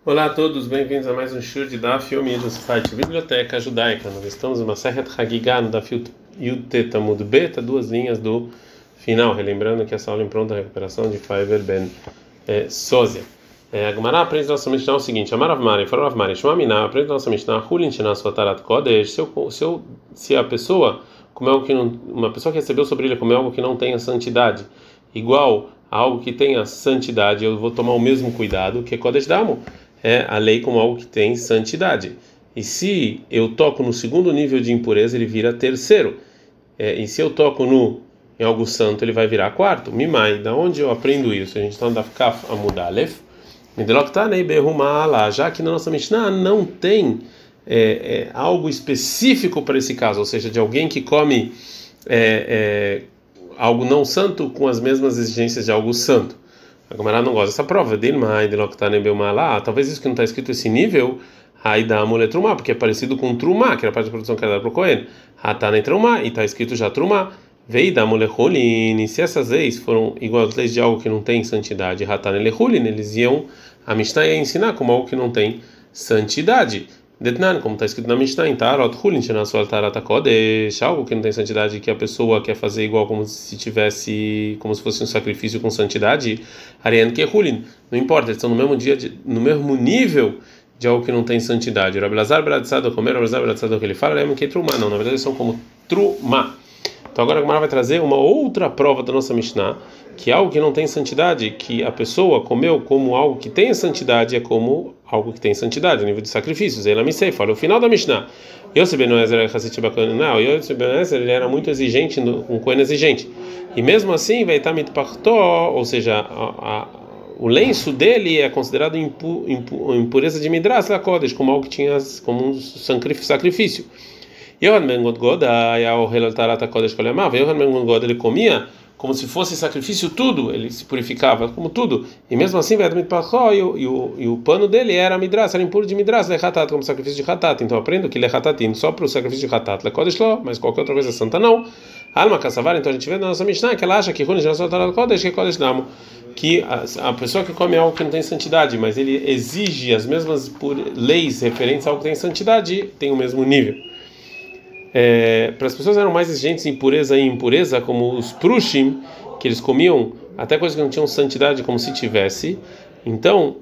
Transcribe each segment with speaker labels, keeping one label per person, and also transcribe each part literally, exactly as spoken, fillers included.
Speaker 1: Olá a todos, bem-vindos a mais um show de Daf Yomi do site Biblioteca Judaica. Nós estamos em Masechet Hagigah, no Daf Yud Tet Amud Bet, duas linhas do final, relembrando que essa aula é em pronta recuperação de Faivel Ben eh, Sozia. A Gemara aprende nossa Mishnah o seguinte: Amar Rav Mari, falou Rav Mari, Shema Miná, aprende nossa Mishnah, Hulin Shena Sotarat Kodesh, se eu, se eu, se a pessoa comer algo que não, uma pessoa que recebeu sobre ele comer algo que não tenha santidade, igual a algo que tenha santidade, eu vou tomar o mesmo cuidado que Kodesh Damo. É a lei como algo que tem santidade. E se eu toco no segundo nível de impureza, ele vira terceiro. É, e se eu toco no em algo santo, ele vai virar quarto. Mimai, da onde eu aprendo isso? A gente está andando Kaf Amudalef. Já que na nossa Mishnah não tem é, é, algo específico para esse caso, ou seja, de alguém que come é, é, algo não santo com as mesmas exigências de algo santo. A Gemara não gosta dessa prova. Talvez isso que não está escrito esse nível, aí dá amulet trumá, porque é parecido com trumá, que era a parte da produção que era para o Cohen. Hatane trumá, e está escrito já trumá. Vei da amulet rolin. Se essas leis foram igual às leis de algo que não tem santidade, hatane lechulin, eles iam, a Mishnah ia ensinar como algo que não tem santidade. Detnan, como está escrito na Mishnah, em Tarot Hulin, Shenasual Tarata Kodesh, algo que não tem santidade, que a pessoa quer fazer igual como se tivesse, como se fosse um sacrifício com santidade, Ariane que Hulin, não importa, eles estão no mesmo dia, de, no mesmo nível de algo que não tem santidade. Rabi Lazar Bradzado comer, Rabi Lazar Bradzado que ele fala, é que é trumá, não, na verdade eles são como trumá. Então agora a Gemara vai trazer uma outra prova da nossa Mishnah, que algo que não tem santidade, que a pessoa comeu como algo que tem santidade, é como algo que tem santidade, no nível de sacrifícios. Ela me sei, fala o final da Mishnah. Yosef ben Ezer era Hassit bacana, não, Yosef ben Ezer ele era muito exigente, um cohen exigente. E mesmo assim, vai estar mitpartó, ou seja, a, a, o lenço dele é considerado impu, impu, impureza de Midrash la Kodesh, como algo que tinha como um sacrifício. Yohan ben God o Helal Tarata Kodesh Kolemava. Yohan ben God ele comia como se fosse sacrifício tudo, ele se purificava como tudo, e mesmo assim vai e o e o e o pano dele era Midrash, era impuro de Midrash, lechatat, como sacrifício de hatat. Então aprendo que lechatatin só para o sacrifício de hatat, lekodesh lo, mas qualquer outra coisa santa não. Alma kassavar, então a gente vê na nossa Mishnah que ela acha que Hulin Shenasual Tarata Kodesh que Kodesh Damo, que a, a pessoa que come algo que não tem santidade, mas ele exige as mesmas por, leis referentes a algo que tem santidade, tem o mesmo nível. É, para as pessoas eram mais exigentes em pureza e impureza, como os prushim, que eles comiam até coisas que não tinham santidade, como se tivesse. Então,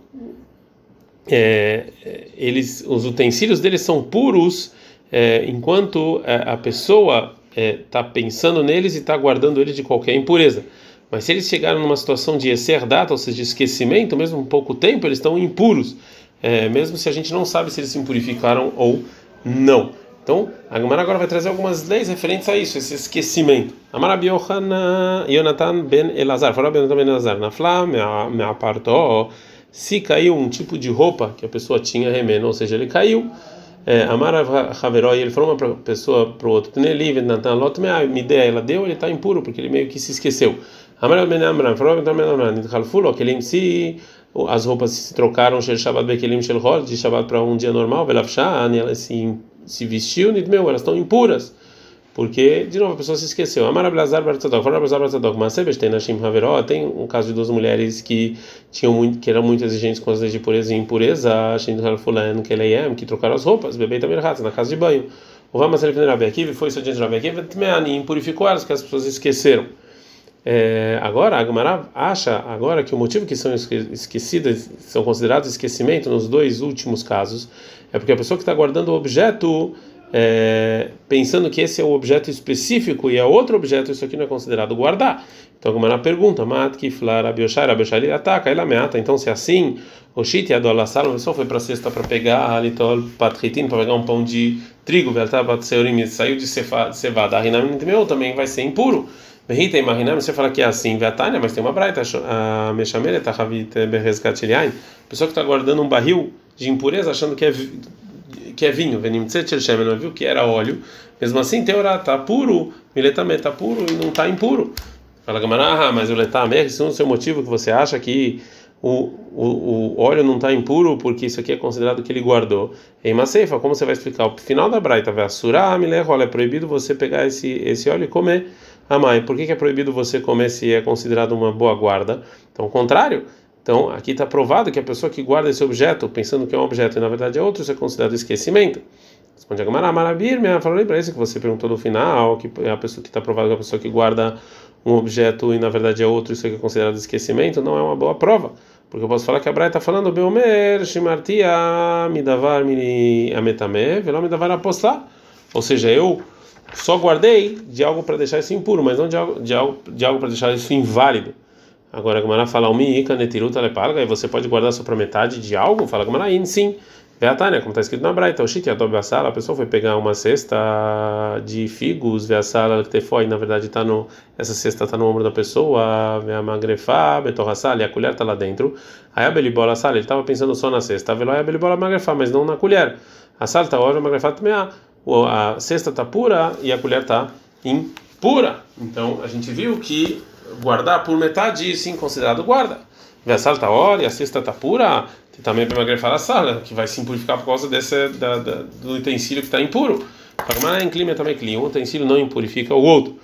Speaker 1: é, eles, os utensílios deles são puros, é, enquanto a pessoa está é, pensando neles e está guardando eles de qualquer impureza. Mas se eles chegaram numa situação de exer data, ou seja, de esquecimento, mesmo um pouco tempo, eles estão impuros, é, mesmo se a gente não sabe se eles se impurificaram ou não. Então, a Gemara agora vai trazer algumas leis referentes a isso, esse esquecimento. Amar Rabi Yonatan ben Elazar, falou Rabi Yonatan ben Elazar, na flá, me apartou, se caiu um tipo de roupa que a pessoa tinha remeno, ou seja, ele caiu. Amar Haveró, ele falou uma pessoa para o outro, me dê, ela deu, ele está impuro, porque ele meio que se esqueceu. Amar ben Amram, falou Rabi Yonatan ben Amram, que ele em si, as roupas se trocaram, de Shabbat para um dia normal, ela se se vestiu, meu, elas estão impuras, porque de novo a pessoa se esqueceu. Amar Abelazar Bartzadok, fala Abelazar Bartzadok, mas sempre tem na Shim Haveró, tem um caso de duas mulheres que tinham muito, que eram muito exigentes com as leis de pureza e impureza, Shim Halfulan Keleiam, que trocaram as roupas, bebê também na casa de banho. O Vama Selef Rabi Akiva foi isso diante de Rabi Akiva, e impurificou elas, que as pessoas esqueceram. É, agora a Gemara acha agora que o motivo que são esquecidas, são considerados esquecimento nos dois últimos casos, é porque a pessoa que está guardando o objeto é, pensando que esse é o objeto específico e é outro objeto, isso aqui não é considerado guardar. Então a Gemara pergunta, Mat Kiflar Abioshar Abioshar ataca, ela meata. Então se é assim, o Shit e a Dolassar, a pessoa foi para a cesta para pegar Alitol Patritin, para pegar um pão de trigo, Veltabat Seurim, saiu de cevada, a Rinam meu também vai ser impuro. Berrita e Marinam, você fala que é assim, Vetânia, mas tem uma braita, a Meshamele, Tahavit Berresgatiliain, pessoa que está guardando um barril de impureza achando que é, que é vinho, Venim Tsetchelchem, não viu que era óleo, mesmo assim, Teorá está puro, Miletame está puro e não está impuro. Fala Gamará, mas o Letame, esse é o seu motivo que você acha que o, o, o óleo não está impuro porque isso aqui é considerado que ele guardou. Em Maceifa, como você vai explicar? O final da braita, Vassurá, Milerrola, é proibido você pegar esse, esse óleo e comer. Ah, mãe, por que é proibido você comer se é considerado uma boa guarda? Então, ao contrário, Então, aqui está provado que a pessoa que guarda esse objeto, pensando que é um objeto e na verdade é outro, isso é considerado esquecimento. Responde a Gamara, Marabir, minha falei para isso que você perguntou no final, que é a pessoa que está provado que a pessoa que guarda um objeto e na verdade é outro, isso aqui é considerado esquecimento, não é uma boa prova. Porque eu posso falar que a Braita está falando, Beomer, Shimartia, Midavar, Mini, Ametame, Veló, Midavar, Apostar. Ou seja, eu só guardei de algo para deixar isso impuro, mas não de algo, de algo, de algo para deixar isso inválido. Agora a Gamara fala, Umiika, Netiruta, Lepalga, e você pode guardar só para metade de algo? Fala a Gamara, sim. Veatânia, como está escrito na Braita, o Shiti Atob Asala, a pessoa foi pegar uma cesta de figos, Veasala, que foi, na verdade, tá no, essa cesta está no ombro da pessoa, Veamagrefá, Betorrassala, e a colher está lá dentro. Aí a Belibola Sala, ele estava pensando só na cesta, Velói a Belibola Magrefá, mas não na colher. A sala está hora, Magrefá também, a cesta está pura e a colher está impura. Então a gente viu que guardar por metade, sim, considerado guarda. A sala está hora e a cesta está pura. Também para magrefar a sala, que vai se impurificar por causa desse, da, da, do utensílio que está impuro. Mas em clima também clima, um utensílio não impurifica o outro.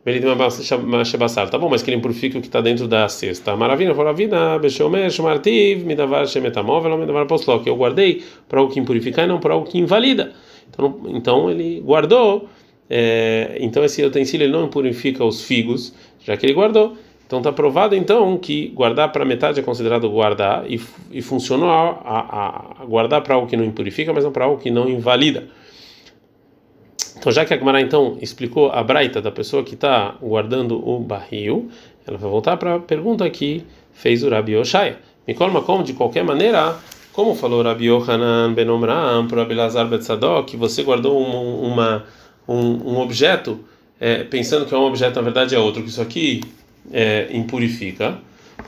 Speaker 1: Tá bom, mas que ele impurifica o que está dentro da cesta. Maravilha, maravilha, Beshomer, Shmartiv, Midavar, Shemetamov, Midavar Posló, que eu guardei para algo que impurifica e não para algo que invalida. Então, então ele guardou, é, então esse utensílio ele não impurifica os figos, já que ele guardou. Então está provado então que guardar para metade é considerado guardar e, e funcionou a, a, a guardar para algo que não impurifica, mas não para algo que não invalida. Então já que a Gemara então explicou a braita da pessoa que está guardando o barril, ela vai voltar para a pergunta que fez o Rabi Oshaya. Me colma como de qualquer maneira, como falou Rabi Yohanan ben Omram para Rabi Lazar ben Tzadok, que você guardou um, uma, um, um objeto é, pensando que é um objeto na verdade é outro, que isso aqui É, impurifica.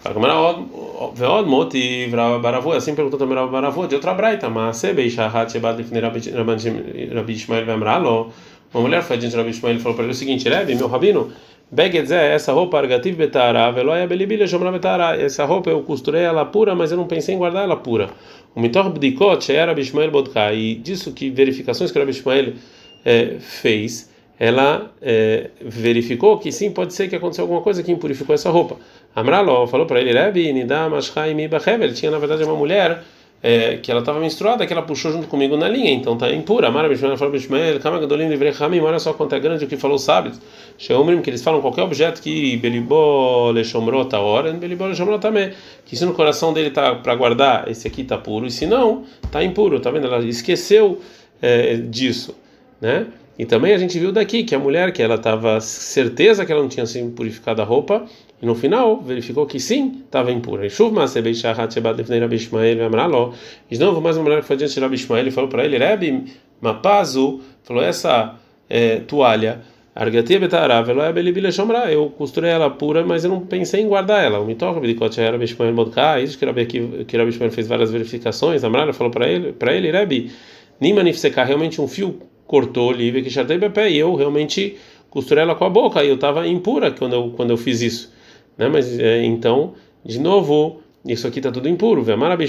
Speaker 1: Assim perguntou também Rav Baravô de outra braita, mas Rabi Ishmael Vemralo, uma mulher foi diante de Rabi Ishmael e falou para ele o seguinte: Rebbe, meu rabino, Begedzé, essa roupa argativ betara, veloia belibile shomra betara, essa roupa eu costurei ela pura, mas eu não pensei em guardar ela pura. O mitor bdikot era Rabi Ishmael bodka, e disso que verificações que Rabi Ishmael é, fez, ela é, verificou que sim, pode ser que aconteceu alguma coisa que impurificou essa roupa. Amralo falou para ele, Rebbe, Nidam, Ashchaim, Bachevel, tinha na verdade uma mulher é, que ela estava menstruada, que ela puxou junto comigo na linha, então está impura. Amara Bishmael falou, Bishmael, Kama Gadolim, Livrei Hamim, olha só quanto é grande o que falou os sábios. Sheomrim, que eles falam qualquer objeto que Belibó, Leshomrot, a hora, Belibó, Leshomrot também, que se no coração dele está para guardar, esse aqui está puro, e se não, está impuro, tá vendo? Ela esqueceu é, disso, né? E também a gente viu daqui que a mulher, que ela estava certeza que ela não tinha sido purificado a roupa, e no final verificou que sim, estava impura. E de novo, mais uma mulher que foi diante de Rabi Ishmael e falou para ele, Rebbe, Mapazu, falou, essa é, toalha, eu costurei ela pura, mas eu não pensei em guardar ela. O mitoca isso que Rabi Ishmael fez várias verificações, a mulher falou para ele, para ele, Rebbe, Nimanifsecar, realmente um fio cortou livre que chartei pé e eu realmente costurei ela com a boca e eu estava impura quando eu quando eu fiz isso, né? Mas é, então de novo isso aqui está tudo impuro.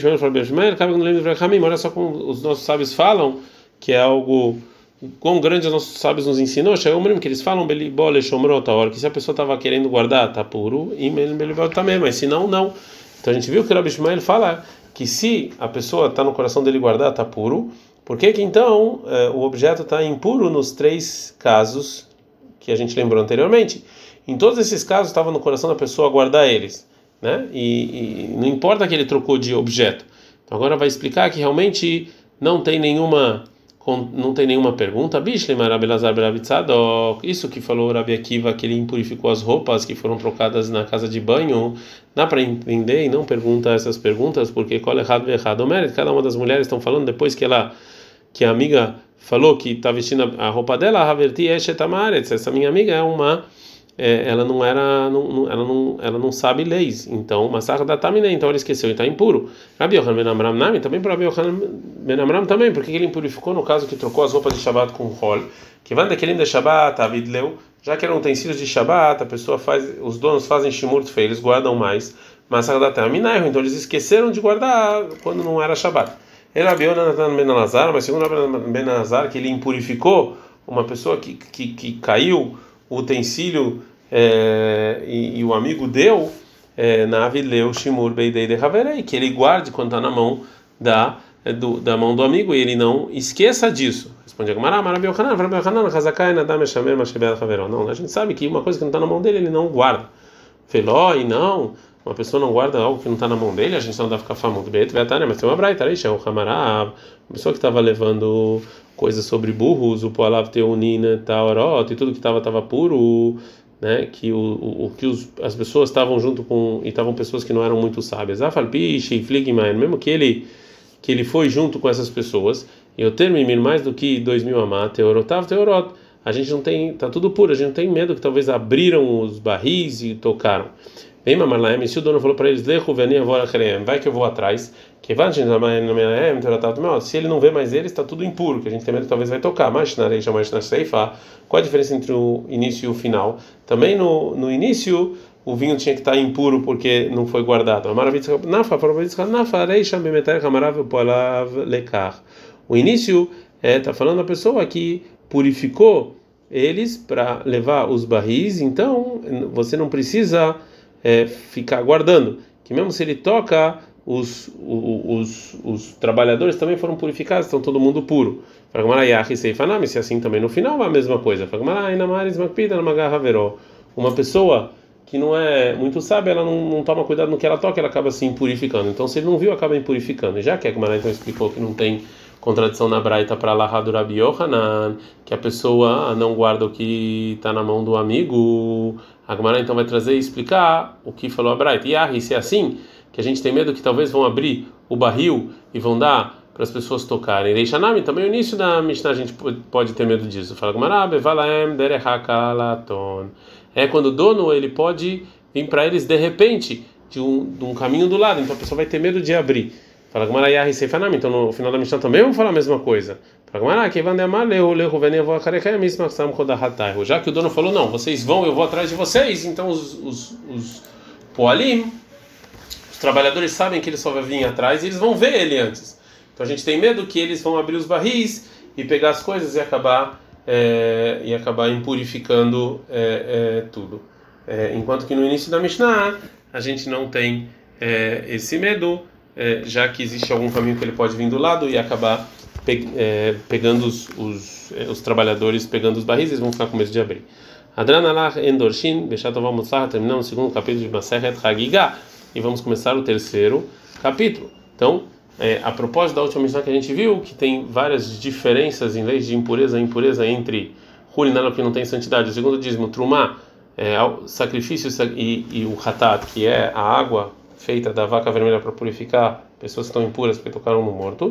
Speaker 1: Olha só como os nossos sábios falam que é algo quão grande os nossos sábios nos ensinou, que eles falam que se a pessoa estava querendo guardar está puro e também, mas se não não. Então a gente viu que o Rabi Ishmael fala que se a pessoa está no coração dele guardar está puro. Por que que então eh, o objeto está impuro nos três casos que a gente lembrou anteriormente? Em todos esses casos estava no coração da pessoa guardar eles, né? E, e não importa que ele trocou de objeto. Então agora vai explicar que realmente não tem nenhuma não tem nenhuma pergunta. Isso que falou o Rabi Akiva, que ele impurificou as roupas que foram trocadas na casa de banho, dá para entender e não pergunta essas perguntas porque cada uma das mulheres estão falando depois que ela que a amiga falou que está vestindo a roupa dela, essa minha amiga é uma, é, ela não era, não, não, ela não, ela não sabe leis, então massacre da tamina, então ele esqueceu e está impuro. Rabi Yochanan ben Amram nami também para Rabi Yochanan ben Amram também, porque ele impurificou no caso que trocou as roupas de Shabbat com rol, que vai daquele de Shabbat, avidleu, já que eram utensílios de Shabbat, a pessoa faz, os donos fazem shimurt feio, eles guardam mais, massacre da tamina, então eles esqueceram de guardar quando não era Shabbat. Ele abriu Natan ben Elazar, mas segundo Ben Elazar, que ele impurificou uma pessoa que, que, que caiu o utensílio é, e, e o amigo deu, nave leu shimur beidei de haverei, que ele guarde quando está na mão da do, da mão do amigo e ele não esqueça disso. Responde a Gemara, Marav Yochanan, Rav Yochanan, Hazakai Nadam Meshamer Masheber Haveró. Não, a gente sabe que uma coisa que não está na mão dele ele não guarda. Veló e não, uma pessoa não guarda algo que não está na mão dele, a gente não dá ficar famoso. Beit Vetane, mas tem uma braita aí, Sheu Hamarav, uma pessoa que estava levando coisas sobre burros, o Poalav Teunina, Taorot, e tudo que estava estava puro, né? Que o, o, o que os, as pessoas estavam junto com e estavam pessoas que não eram muito sábias. Afalpiche, Fligmain, mesmo que ele que ele foi junto com essas pessoas, eu termino mais do que dois mil amá, Teorotav, Teorot. A gente não tem, tá tudo puro, a gente não tem medo que talvez abriram os barris e tocaram. Vem Mamarlaem, se o dono falou para eles, vai que eu vou atrás, que se ele não vê mais eles, está tudo impuro, que a gente tem medo que talvez vai tocar. Mas na areia, mais na ceifa, qual a diferença entre o início e o final? Também no, no início, o vinho tinha que estar impuro porque não foi guardado. O início é, tá falando a pessoa que purificou eles para levar os barris, então você não precisa é, ficar guardando, que mesmo se ele toca, os, os, os, os trabalhadores também foram purificados, estão todo mundo puro. Se assim também no final é a mesma coisa. Uma pessoa que não é muito sábia, ela não, não toma cuidado no que ela toca, ela acaba se impurificando. Então se ele não viu, acaba impurificando. E já que a Gemara então explicou que não tem contradição na Braita para Lahá do Rabi Yohanan, que a pessoa não guarda o que está na mão do amigo, a Gemara então vai trazer e explicar o que falou a Braita. E ah, se é assim, que a gente tem medo que talvez vão abrir o barril e vão dar para as pessoas tocarem. Reishanami, também o início da Mishnah a gente pode ter medo disso. Fala Gemara, Bevalaem derehakalaton. É quando o dono ele pode vir para eles de repente de um, de um caminho do lado, então a pessoa vai ter medo de abrir. Fala Gemara Yahi Seifanam, então no final da Mishnah também vamos falar a mesma coisa. Fala Gemara que já que o dono falou não, vocês vão, eu vou atrás de vocês, então os os, os poalim, os trabalhadores sabem que ele só vai vir atrás e eles vão ver ele antes. Então a gente tem medo que eles vão abrir os barris e pegar as coisas e acabar é, e acabar impurificando é, é, tudo. É, enquanto que no início da Mishnah a gente não tem é, esse medo, é, já que existe algum caminho que ele pode vir do lado e acabar pe é, pegando os, os, é, os trabalhadores, pegando os barris, eles vão ficar com medo de abrir. Adranalach Endorshin, Beshatova Mutzah, terminamos o segundo capítulo de Masechet Hagigah e vamos começar o terceiro capítulo. Então, É, a propósito da última missão que a gente viu, que tem várias diferenças em leis de impureza e impureza entre Hulinala, que não tem santidade, o segundo dízimo, Trumá, é, sacrifício e, e o Hatat, que é a água feita da vaca vermelha para purificar pessoas que estão impuras porque tocaram no morto,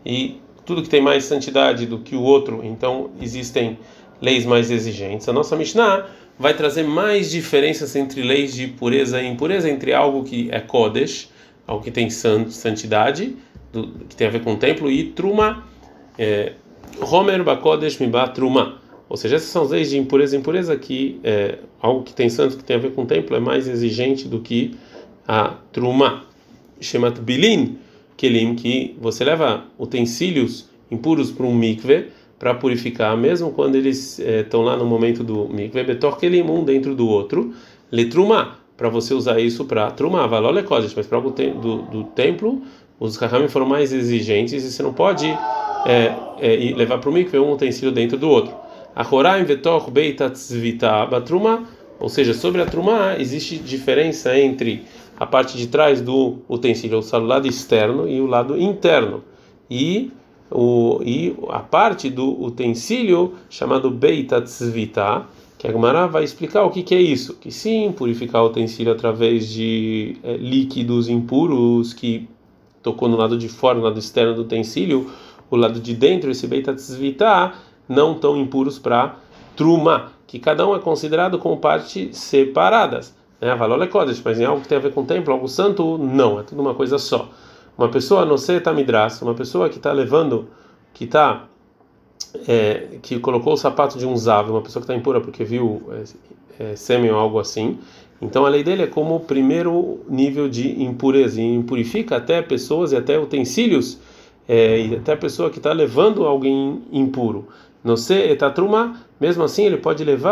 Speaker 1: e tudo que tem mais santidade do que o outro, então existem leis mais exigentes. A nossa Mishnah vai trazer mais diferenças entre leis de pureza e impureza, entre algo que é Kodesh, algo que tem santidade, do, que tem a ver com o templo, e Truma, é, Homer Bakodesh Miba Truma. Ou seja, essas são as leis de impureza e impureza, que é, algo que tem santo, que tem a ver com o templo, é mais exigente do que a Truma. Shemat Bilin Kelim, que você leva utensílios impuros para um mikve, para purificar, mesmo quando eles estão é, lá no momento do mikve, Betor Kelim, um dentro do outro, Letruma, para você usar isso para Truma, Valole Kodesh, mas para algo do, do templo, os Chachamim foram mais exigentes e você não pode é, é, levar para o mikve um utensílio dentro do outro. Achoraim Vetor Beitatzvita Batruma, ou seja, sobre a Truma existe diferença entre a parte de trás do utensílio, o lado externo e o lado interno, e, o, e a parte do utensílio chamado Beitatzvita, que a Gemara vai explicar o que, que é isso, que sim, purificar o utensílio através de é, líquidos impuros que tocou no lado de fora, no lado externo do utensílio, o lado de dentro, esse Beitatzvita, não tão impuros para Truma, que cada um é considerado como partes separadas. Né? Valor é Kodesh, mas em algo que tem a ver com o templo, algo santo, não, é tudo uma coisa só. Uma pessoa, não sei, tá midras, uma pessoa que está levando, que está É, que colocou o sapato de um zav, uma pessoa que está impura porque viu é, é, sêmen ou algo assim, então a lei dele é como o primeiro nível de impureza, e impurifica até pessoas e até utensílios, é, e até a pessoa que está levando alguém impuro. Não sei, etatruma, mesmo assim ele pode levar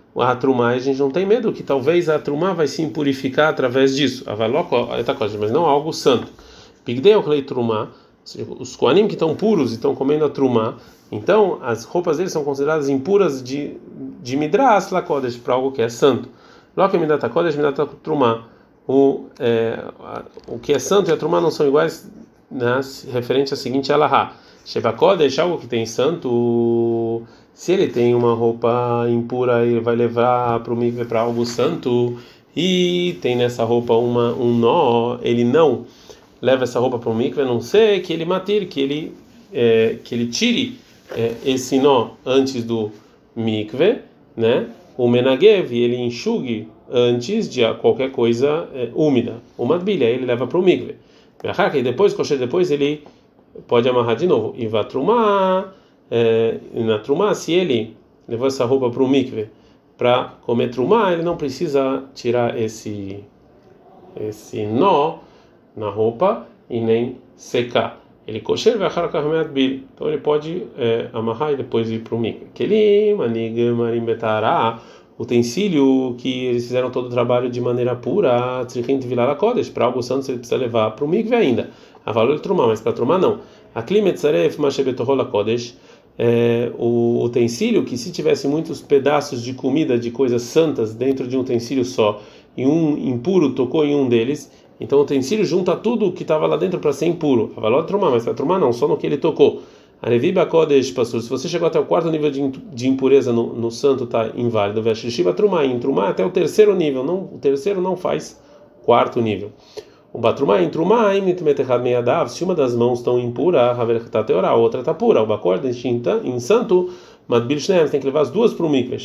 Speaker 1: a trumá, a gente não tem medo que talvez a trumá vai se impurificar através disso. Mas não algo santo. Pigdei o clay trumá, os koanim que estão puros e estão comendo a trumá, então as roupas deles são consideradas impuras de de midras lakodesh para algo que é santo. Loke midata kodesh midata trumá. O é, o que é santo e a trumá não são iguais, né, referente à seguinte alahá. Sheba kodesh, algo que tem santo, se ele tem uma roupa impura, ele vai levar para o mikve para algo santo, e tem nessa roupa uma um nó, ele não leva essa roupa para o mikve, a não ser que ele matir, que ele é, que ele tire é, esse nó antes do mikve, né? O menagev, ele enxugue antes de qualquer coisa é, úmida. Uma bilha, ele leva para o mikve. E depois, kosher, depois ele pode amarrar de novo. E vai trumar, é, na trumá, se ele levou essa roupa para o mikve para comer trumá, ele não precisa tirar esse esse nó na roupa e nem secar. Ele kosher vai bil, então ele pode é, amarrar e depois ir para o mikve. Aquele manig marim betará, utensílio que eles fizeram todo o trabalho de maneira pura, tzrichint vilar kodesh, para algo santo ele precisa levar para o mikve ainda. A valor de trumá, mas para trumá não. A klimetzaref mashebetohola kodesh, é, o utensílio que se tivesse muitos pedaços de comida de coisas santas dentro de um utensílio só e um impuro tocou em um deles, então o utensílio junta tudo o que estava lá dentro para ser impuro. A valor de trumá, mas para trumá não, só no que ele tocou. A Reviba Kodesh, pastor, se você chegou até o quarto nível de, de impureza no, no santo, está inválido. Veshishiva trumá, em trumá até o terceiro nível, não, o terceiro não faz quarto nível. O batrumá, em trumá, se uma das mãos estão impura, a outra está pura. O bacor, em santo, tem que levar as duas para o mikve.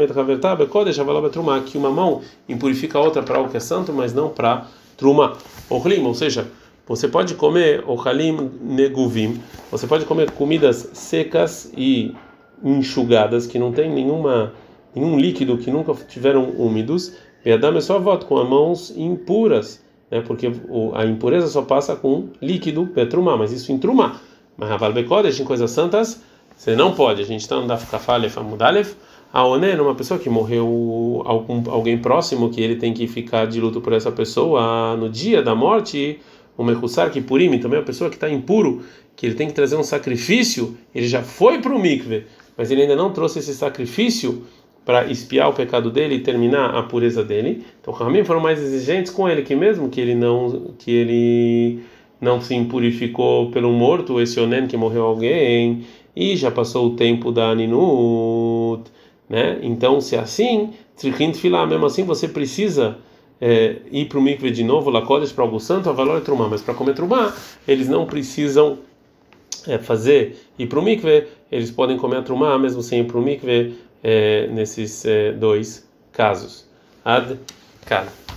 Speaker 1: Que uma mão impurifica a outra para algo que é santo, mas não para trumá. Ou seja, você pode comer ochalim neguvim, você pode comer comidas secas e enxugadas que não tem nenhuma nenhum líquido, que nunca tiveram úmidos. Ve'adam é só voto com as mãos impuras, né? Porque a impureza só passa com líquido petrumá, mas isso em trumá. Mas aval bekodesh, em coisas santas, você não pode. A gente está no daf kafalef amudalef. A oné, uma pessoa que morreu, algum, alguém próximo que ele tem que ficar de luto por essa pessoa no dia da morte. O mechussar que purim, também a pessoa que está impuro, que ele tem que trazer um sacrifício, ele já foi para o mikve, mas ele ainda não trouxe esse sacrifício para expiar o pecado dele e terminar a pureza dele. Então, os Ramim foram mais exigentes com ele, que mesmo que ele não que ele não se impurificou pelo morto, esse onen que morreu alguém e já passou o tempo da aninut, né? Então, se é assim, tzrichint filah, mesmo assim você precisa É, ir para o mikve de novo, lakodesh para algo santo, a valor é trumá, mas para comer trumá, eles não precisam é, fazer ir para o mikve, eles podem comer a trumá mesmo sem ir para o mikve, é, nesses é, dois casos. Ad kan.